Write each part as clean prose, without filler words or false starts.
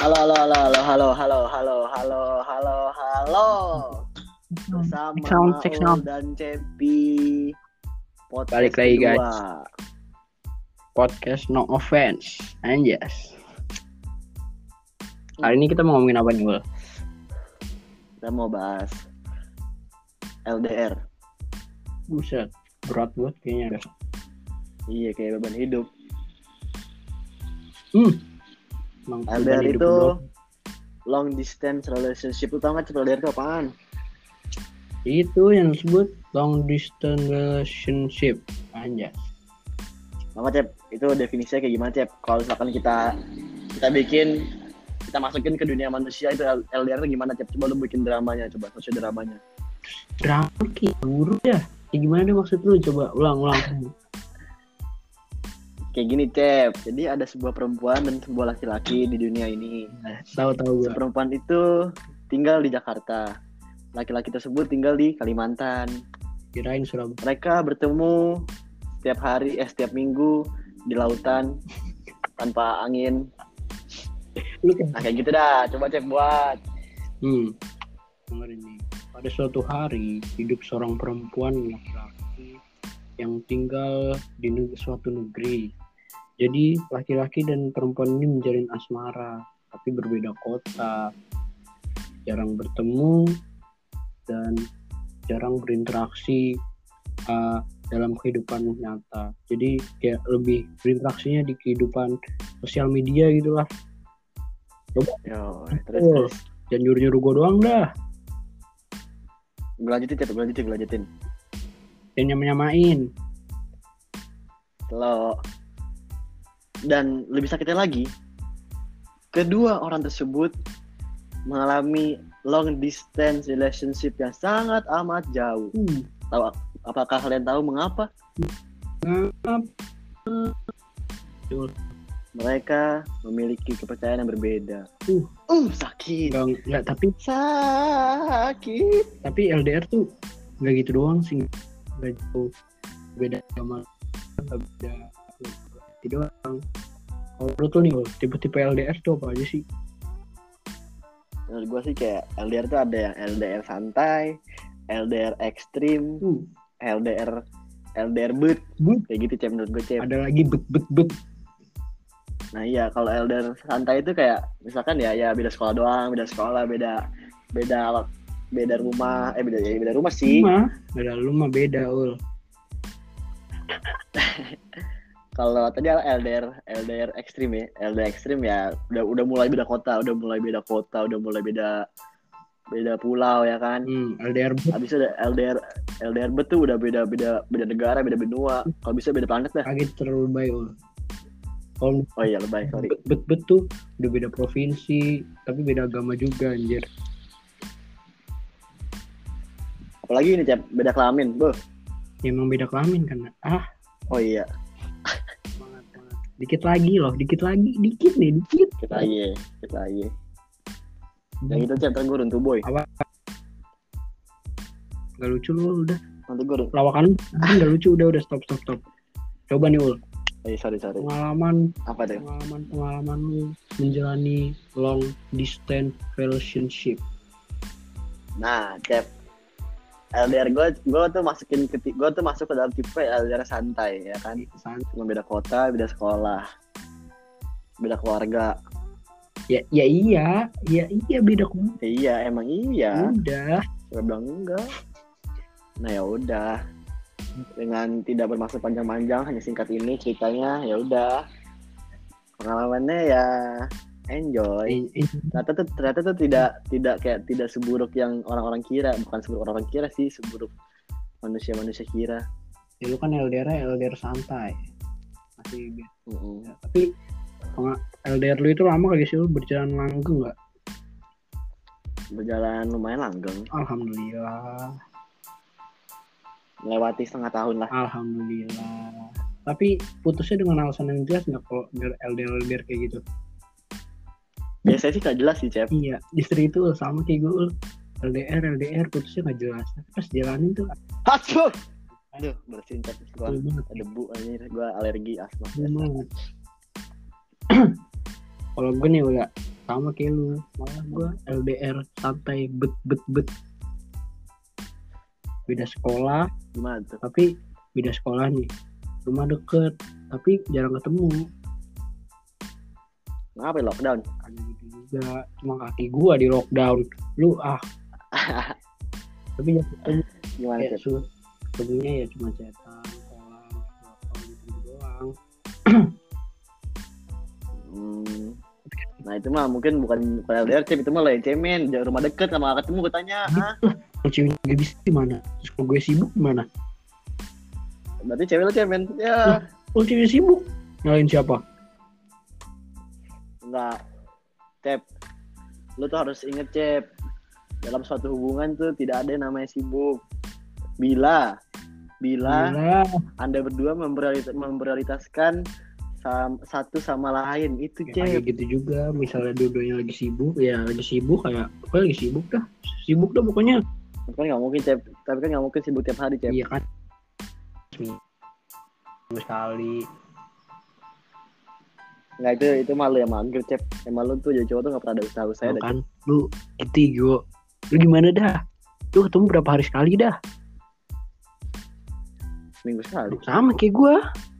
Halo, halo, halo, halo, halo, halo, halo, halo, halo, halo. Bersama Check Maul sound. dan Cepi. Podcast Balik lagi, kedua. guys. Podcast No Offense. Anjas. Hari ini kita mau ngomongin apa nih, Will? Kita mau bahas LDR. Buset, berat banget kayaknya. Iya, kayak beban hidup. Emang LDR beban hidup itu doang. long distance relationship. Lu tau gak LDR itu apaan? Itu yang disebut long distance relationship. Anjas. Maka Cep, itu definisinya kayak gimana Cep? Kalau misalkan kita masukin ke dunia manusia itu LDR itu gimana Cep? Coba lu bikin dramanya, coba sosial dramanya. Drama kayak buru ya. Kayak gimana deh maksud lu? Coba ulang. Kayak gini Cep, jadi ada sebuah perempuan dan sebuah laki-laki di dunia ini. Tahu Si gua. perempuan itu tinggal di Jakarta, laki-laki tersebut tinggal di Kalimantan. Kirain Surabaya. Mereka bertemu setiap minggu di lautan tanpa angin. Lu kan? Nah kayak gitu dah, coba Cep buat. Dengerin nih. Pada suatu hari hidup seorang perempuan laki-laki yang tinggal di suatu negeri. Jadi laki-laki dan perempuan ini menjalin asmara, tapi berbeda kota, jarang bertemu dan jarang berinteraksi dalam kehidupan nyata. Jadi kayak lebih berinteraksinya di kehidupan sosial media gitulah. Yo, terus. Jangan nyuruh-nyuruh gue doang dah. Gue lanjutin Cep, gue lanjutin. Dan nyamain. Lo. Dan lebih sakitnya lagi, kedua orang tersebut mengalami long distance relationship yang sangat amat jauh. Apakah kalian tahu mengapa? Mereka memiliki kepercayaan yang berbeda. Sakit. Enggak, tapi Sakit. Tapi LDR tuh nggak gitu doang sih, nggak jauh beda sama beda itu doang. Kalau menurut lo nih, tipe-tipe LDR tuh apa aja sih? Menurut gue sih kayak LDR tuh ada yang LDR santai, LDR ekstrim, LDR but, kayak gitu Cep menurut gue Cep. Ada lagi bet. Nah iya, kalau LDR santai itu kayak misalkan ya beda sekolah doang, beda rumah, beda rumah sih. Beda rumah beda ul. Kalau tadi LDR ekstrim ya, LDR ekstrim ya udah mulai beda kota, udah mulai beda pulau ya kan. LDR bet. Habis itu ada LDR bet tuh udah beda negara, beda benua. Kalau bisa beda planet dah. Kaget terlalu lebay ul. Oh iya lebay, sorry. Bet tuh udah beda provinsi, tapi beda agama juga anjir. Apalagi ini Cep, beda kelamin, boh. Ya, emang beda kelamin kan? Oh iya. Dikit lagi. Dikit lagi. Yang itu Cep, ntar gue runtuh boy. Apa? Gak lucu lu udah. Nanti gue lawakan gak lucu, udah stop. Coba nih ul. Sorry. Pengalaman apa tuh? Pengalaman lu menjalani long distance relationship. Nah, Cep, LDR gue tuh masuk ke dalam tipe LDR santai ya kan. Cuma beda kota, beda sekolah, beda keluarga. Ya iya beda keluarga. Iya, emang iya. Udah. Gue bilang enggak. Nah ya udah. Dengan tidak bermaksud panjang-panjang, hanya singkat ini ceritanya, ya udah. Pengalamannya ya enjoy. Ternyata tuh tidak seburuk yang orang-orang kira. Bukan seburuk orang-orang kira sih, seburuk manusia kira. Ya lu kan LDR santai. Masih ya, tapi LDR lu itu lama kali sih, lu berjalan langgeng nggak? Berjalan lumayan langgeng. Alhamdulillah. Melewati setengah tahun lah. Alhamdulillah. Tapi putusnya dengan alasan yang jelas nggak kalau LDR kayak gitu? Biasanya sih gak jelas sih Cep. Iya, istri itu sama kayak gue. LDR putusnya gak jelas. Pas jalanin tuh. Aduh, bersihin Cep. Gue debu anjir, gue alergi asma. Kalau gue nih udah sama kayak lu, malah gue LDR santai bet beda sekolah Gimana tuh? tapi beda sekolah nih, rumah deket tapi jarang ketemu. Ngapain lockdown? Ada gitu juga, cuma kaki gua di lockdown. Lu tapi ya ketemu Gimana kayak Cep? ketemunya ya cuma chatan, callan, apa gitu doang. Nah itu mah mungkin bukan LDR Cep, itu mah lain cemen, jauh rumah deket sama gak ketemu gue tanya. Kalau ceweknya gak bisa gimana? Terus kalau gue sibuk gimana? Berarti cewek lu cemen. Ya. Kalau cewek sibuk nyalain siapa? Enggak. Cep, lu tuh harus inget Cep, dalam suatu hubungan tuh tidak ada yang namanya sibuk. Bila Anda berdua memprioritaskan satu sama lain, itu Ya, kayak Cep. gitu juga. Misalnya dua-duanya lagi sibuk, ya lagi sibuk kayak apa, lagi sibuk dah pokoknya. Kan nggak mungkin Cep, tapi kan nggak mungkin sibuk tiap hari Cep. Iya kan, seminggu sekali. Nggak, itu malu ya mager Cep. Emang lu tuh jadi cowok tuh nggak pernah ada usaha-usaha Lu dah, kan, lu gitu lu gimana dah? Lu ketemu berapa hari sekali dah? seminggu sekali. Sama kayak gue.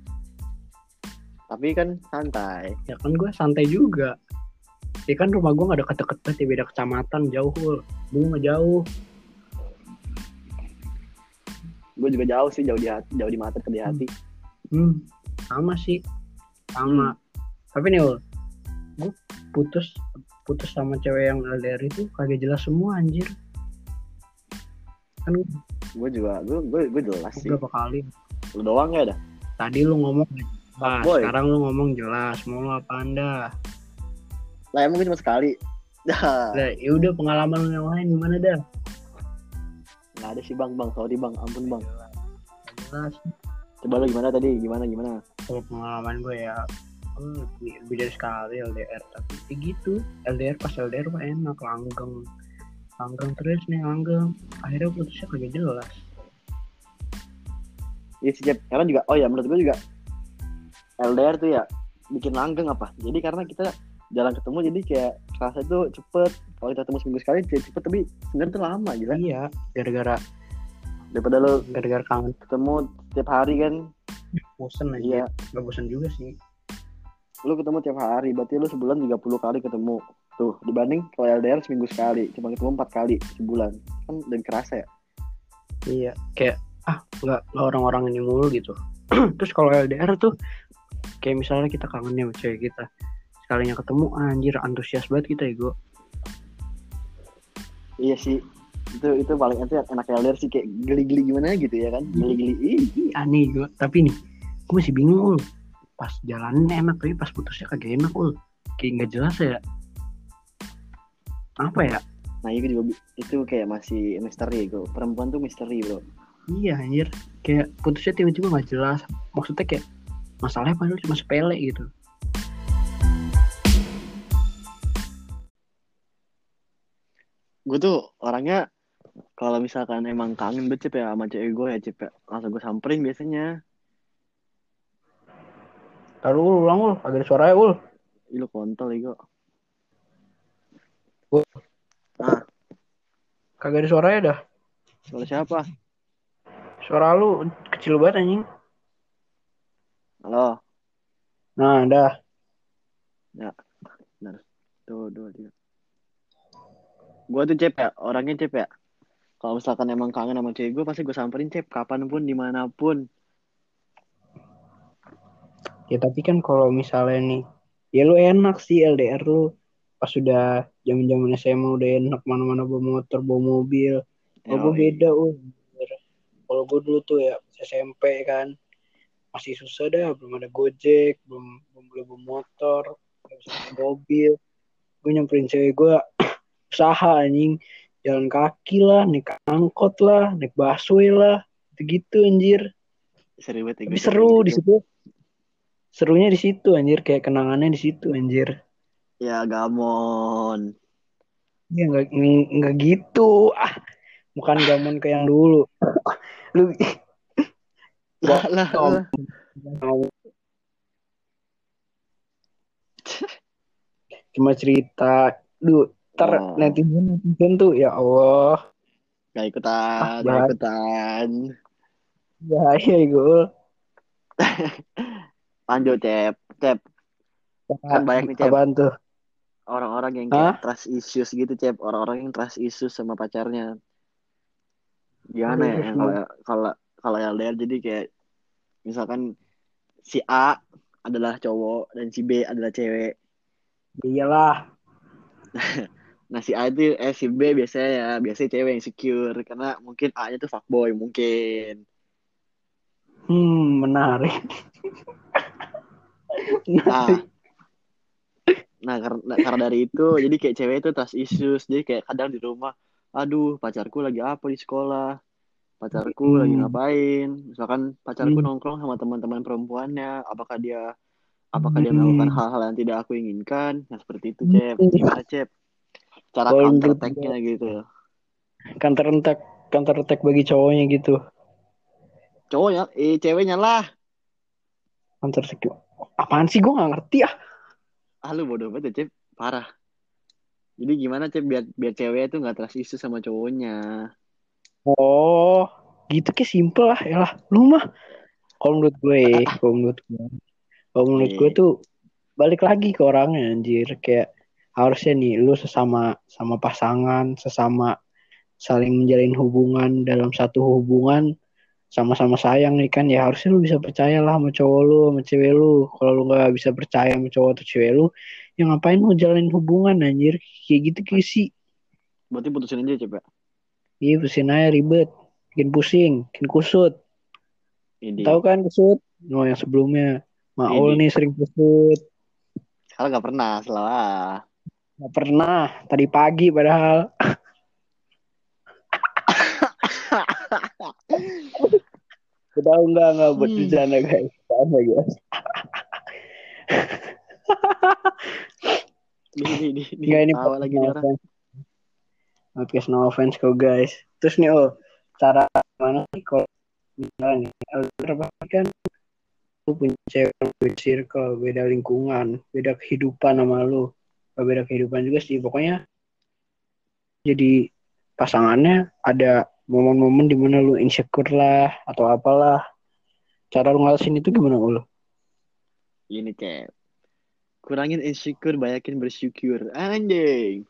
Tapi kan santai. Ya kan gue santai juga. Ya kan rumah gue gak deket-deket ya, beda kecamatan, jauh. Gue gak jauh. Gue juga jauh sih, jauh di mata ke di hati. Sama sih. Sama. Tapi nih Ul, gue putus sama cewek yang LDR itu kagak jelas semua anjir. Kan Gue juga, gue jelas sih. berapa kali. Lu doang ya dah. Tadi lu ngomong jelas, Boy. sekarang lu ngomong jelas. Mau lu apa anda? Lah emang cuma sekali. Dah. Nah, ya udah pengalaman lu yang lain gimana dah? Nggak ada sih bang, sorry bang, ampun bang. Jelas. Coba lu gimana tadi, gimana? Kalau pengalaman gue ya lebih dari sekali LDR, tapi kayak gitu. LDR pas LDR mah enak, langgeng terus nih, akhirnya putusnya kagak jelas. Iya sih Cep, karena juga, oh ya menurut gue juga LDR tuh ya bikin langgeng apa, jadi karena kita jarang ketemu, jadi kayak kerasa tuh cepet. Kalau kita ketemu seminggu sekali cepet, tapi sebenarnya tuh lama gila. Iya, gara-gara kangen ketemu tiap hari kan. bosen aja. Iya, Gak bosen juga sih. lu ketemu tiap hari, berarti lu sebulan 30 kali ketemu. Tuh, dibanding kalau LDR seminggu sekali, cuma ketemu 4 kali sebulan. Kan lebih kerasa ya. Iya, kayak nggak orang-orang ini mulu gitu. Terus kalau LDR tuh kayak misalnya kita kangen sama cewek kita, sekalinya ketemu anjir antusias banget kita ya gue. Iya sih, itu paling enak LDR sih, kayak geli-geli gimana gitu ya kan. Geli-geli Aneh gue, tapi nih gue masih bingung pas jalannya enak, tapi pas putusnya kagak enak kayak nggak jelas ya, apa ya. Nah itu kayak masih misteri bro, perempuan tuh misteri bro. Iya anjir, kayak putusnya tiba-tiba nggak jelas, maksudnya kayak masalahnya padahal cuma sepele gitu. Gue tuh orangnya kalau misalkan emang kangen banget Cep ya sama cewek gue ya Cep ya, langsung gue samperin biasanya. Taruh ulang agak ada suaranya Ih, lu kontol ya gue. Kagak ada suaranya dah. Suara siapa? Suara lu kecil banget anjing. Halo. Nah dah. Ya, benar. Tuh, 2, 3. Gue tuh Cep ya, orangnya Cep ya, kalau misalkan emang kangen sama cewek gue, pasti gue samperin Cep, kapanpun, dimanapun. Ya tapi kan kalau misalnya nih, ya lu enak sih LDR lu. Pas sudah zaman-zaman SMA udah enak, mana-mana bawa motor, bawa mobil. Kalau gue beda Kalau gue dulu tuh ya SMP kan, masih susah dah, belum ada Gojek, belum boleh bawa motor, belum bisa bawa mobil. Gue nyamperin cewek gue usaha anjing, jalan kaki lah, naik angkot lah, naik busway lah, gitu anjir. Seru banget. Tapi seru di situ. Serunya di situ anjir, kayak kenangannya di situ anjir. Ya gamon. Ya nggak gitu. Bukan gamon kayak yang dulu. Lu lah. cuma cerita. Duh, Oh, netizen tuh ya Allah, gak ikutan, gak bahaya, ikutan. bahaya gue. Lanjut, Cep. Cep, kan banyak nih, Cep. Apaan tuh? Orang-orang yang kayak Hah? trust issues gitu, Cep. Orang-orang yang trust issues sama pacarnya. Gimana ya? Aduh, Yang kalau kalau kalau LDR jadi kayak misalkan si A adalah cowok dan si B adalah cewek. iyalah. Nah si A itu si B biasanya ya biasanya cewek yang secure karena mungkin A-nya tuh fuckboy mungkin. Menarik. Nah Menarik. karena dari itu jadi kayak cewek itu trust issues jadi kayak kadang di rumah, aduh pacarku lagi apa di sekolah, pacarku lagi Hmm. ngapain, misalkan pacarku Hmm. nongkrong sama teman-teman perempuannya, apakah dia melakukan Hmm. hal-hal yang tidak aku inginkan, nah seperti itu Cep, gimana Cep cara Kalau counter menurut attack-nya gue gitu. counter attack, counter attack bagi cowoknya gitu. Cowoknya ceweknya lah. Counter attack. Apaan sih, gue nggak ngerti ah. Ah lu bodoh banget ya, Cep, parah. Jadi gimana Cep biar biar cewek itu nggak trust issue sama cowoknya. Oh, gitu kayak simple lah ya lah. Lu mah kalau menurut gue, kalau menurut gue Iya. tuh balik lagi ke orangnya anjir. Kayak harusnya nih lu sesama sama pasangan, sesama saling menjalin hubungan dalam satu hubungan, sama-sama sayang nih kan, ya harusnya lu bisa percaya lah sama cowok lu sama cewek lu. Kalau lu nggak bisa percaya sama cowok atau cewek lu, ya ngapain lu jalanin hubungan anjir kayak gitu kayak sih. Berarti putusin aja Cep ya. Iya, pusing aja ribet, bikin pusing, bikin kusut. Tahu Ini kan kusut? No, yang sebelumnya Maul ini nih sering kusut. sekarang nggak pernah salah. Gak pernah, tadi pagi padahal. Tahu enggak buat Hmm. bercanda guys. Bercanda guys. Di Enggak, ini tawa podcast lagi no nih orang. offense. Podcast no offense kok guys. Terus nih cara mana sih kalau misalnya nih, LDR pasti kan lu punya cewek, beda circle, beda lingkungan, beda kehidupan sama lu. Gak beda kehidupan juga sih. Pokoknya jadi pasangannya ada momen-momen di mana lu insecure lah atau apalah. Cara lu ngalasin itu gimana lu? Ini Cep. Kurangin insecure, banyakin bersyukur. Anjing.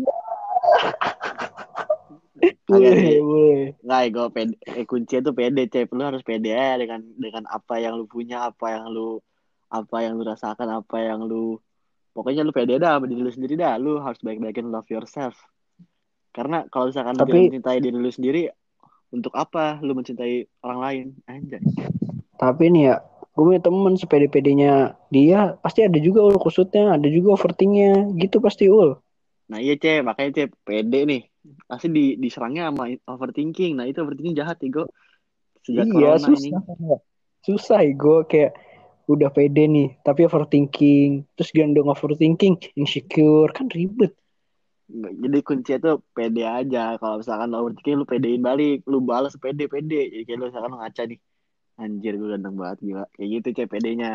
Kagak Boleh, sih. boleh. Nggak, gue pede. Kunci itu pede, Cep. Lu harus pede aja dengan apa yang lu punya, apa yang lu rasakan, apa yang lu pokoknya lu pede dah sama diri lu sendiri dah. Lu harus baik-baikin love yourself. Karena kalau misalkan lu tidak Tapi mencintai diri lu sendiri, untuk apa lu mencintai orang lain? Anjay. tapi nih ya, gue punya temen sepede-pedenya dia pasti ada juga ul kusutnya, ada juga overthinknya gitu pasti ul. Nah iya makanya pede nih. Pasti diserangnya sama overthinking. Nah itu overthinking jahat ego sejak Iya corona ini. susah, susah gue kayak udah pede nih tapi overthinking, terus dia udah overthinking insecure kan ribet. Jadi kunci itu pede aja. Kalau misalkan lo overthinking lu pedein balik, lu balas pede. Jadi kayak lu misalkan lu ngaca nih. Anjir gue ganteng banget gila. Kayak gitu pedenya.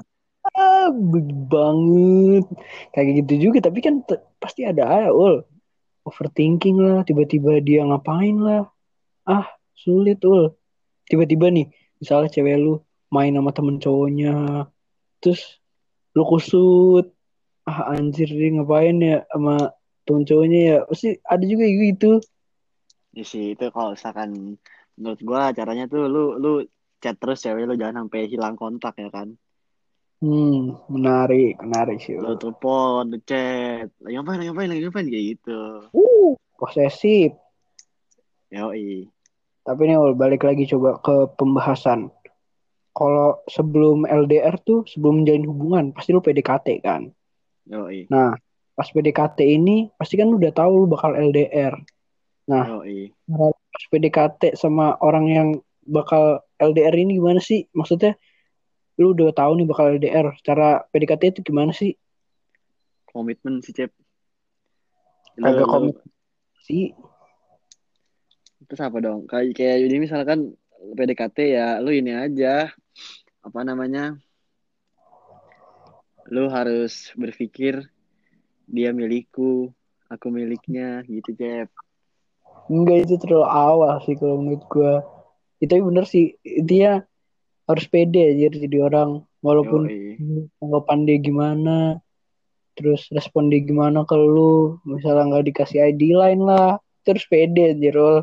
Banget kayak gitu juga tapi kan pasti ada aja ul overthinking lah, tiba-tiba dia ngapain lah, ah sulit ul. Tiba-tiba nih misalnya cewek lu main sama temen cowoknya, terus lu kusut, ah anjir dia ngapain ya sama temen cowoknya ya, pasti ada juga gitu. Ya sih itu kalau misalkan menurut gua caranya tuh lu chat terus cewek lu jangan sampai hilang kontak ya kan. Menarik menarik sih Lu ul. telepon, lu chat, lagi ngapain kayak gitu. Posesif. Yoi. Tapi nih ul balik lagi coba ke pembahasan. Kalau sebelum LDR tuh, sebelum menjalin hubungan pasti lu PDKT kan. Yoi. Nah, pas PDKT ini pasti kan lu udah tahu lu bakal LDR. Nah, Yoi. pas PDKT sama orang yang bakal LDR ini gimana sih? Maksudnya lu udah tahu nih bakal LDR. Cara PDKT itu gimana sih? Komitmen sih Cep. Lu Kagak lu komit sih. terus apa dong? Kayak ini misalkan PDKT ya lu ini aja apa namanya? Lu harus berpikir dia milikku, aku miliknya, gitu Cep. Enggak, itu terlalu awal sih kalau menurut gue. Itu bener sih, dia harus pede aja jadi orang, walaupun Yoi. anggapan dia gimana, terus respon dia gimana ke lu, misalnya nggak dikasih ID line lah, terus pede aja Rol.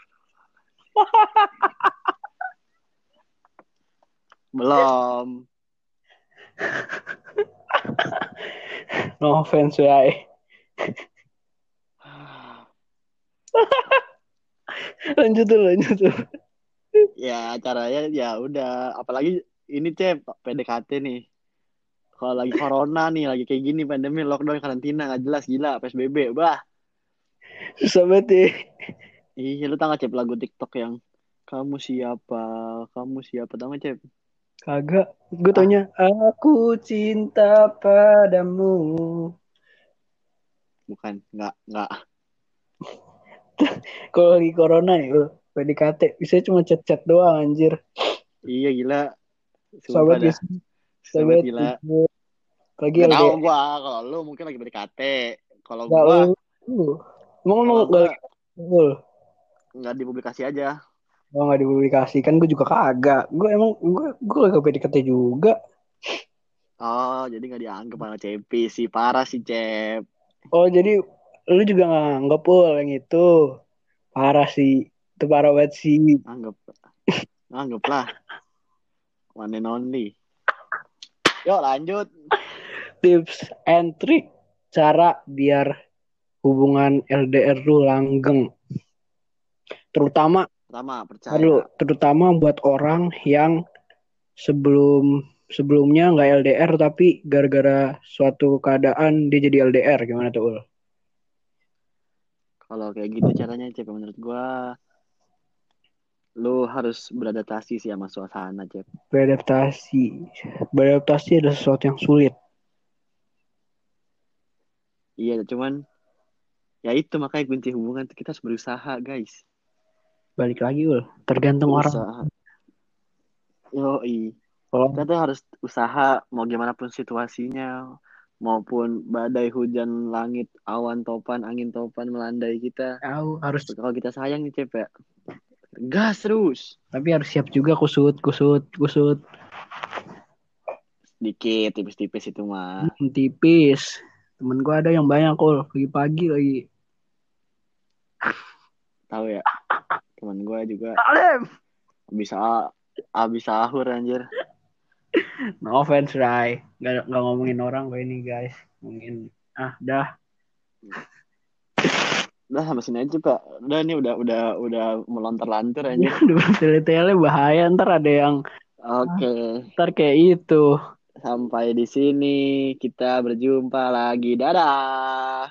Belum. No offense ya. Lanjut dulu. Ya caranya ya udah, apalagi ini Cep, PDKT nih. Kalau lagi corona nih, lagi kayak gini pandemi, lockdown, karantina, nggak jelas, gila, PSBB, bah. Susah banget ya. Iya, lu tau gak Cep lagu TikTok yang kamu siapa, kamu siapa, tau gak Cep? Kagak, gue Ah, taunya aku cinta padamu. bukan, nggak. Kalau lagi corona nih, bro, PDKT bisa cuma chat-chat doang anjir. Iya gila, sumpah Sahabat dah, guys, sobat sahabat gila. gitu. Lagi Nggak tahu LDR. gua, kalau lu mungkin lagi PDKT. Kalau Gak gua, lu. Emang lu kalau gak gua lagi lu? nggak dipublikasi aja. Oh, gak dipublikasikan, gue juga kagak. Gue lagi PDKT juga. Oh, jadi nggak dianggap sama Cepi sih, parah sih Cep. Oh, jadi lu juga gak nganggep pul yang itu. Parah sih. Itu parah banget sih. Anggap, anggaplah one and only. Yuk lanjut. Tips and trick. Cara biar hubungan LDR lu langgeng. Terutama, Pertama, percaya. terutama buat orang yang sebelumnya nggak LDR tapi gara-gara suatu keadaan dia jadi LDR, gimana tuh Ul? Kalau kayak gitu caranya Cep, menurut gua, lu harus beradaptasi sih sama suasana Cep. Beradaptasi. Beradaptasi adalah sesuatu yang sulit. Iya, cuman ya itu makanya kunci hubungan tuh kita harus berusaha guys. Balik lagi Ul, tergantung orang. Usaha. Yoi. Kita Kalau tuh harus usaha mau gimana pun situasinya, maupun badai, hujan, langit, awan topan, angin topan melandai kita. tahu harus, Kalau kita sayang nih Cep ya, gas terus. tapi harus siap juga kusut. Sedikit, tipis-tipis itu mah. Tipis. Temen gua ada yang banyak Ul, pagi-pagi lagi. Tahu ya, teman gue juga Alem. bisa habis sahur anjir. No offense, Rai. Nggak ngomongin orang gue ini, guys. Ngomongin, dah. Udah sampai sini aja Pak. Udah nih udah melontar-lantur Ini anjir. udah bertele-tele bahaya. Ntar ada yang, Oke, ntar kayak itu. sampai di sini kita berjumpa lagi. Dadah.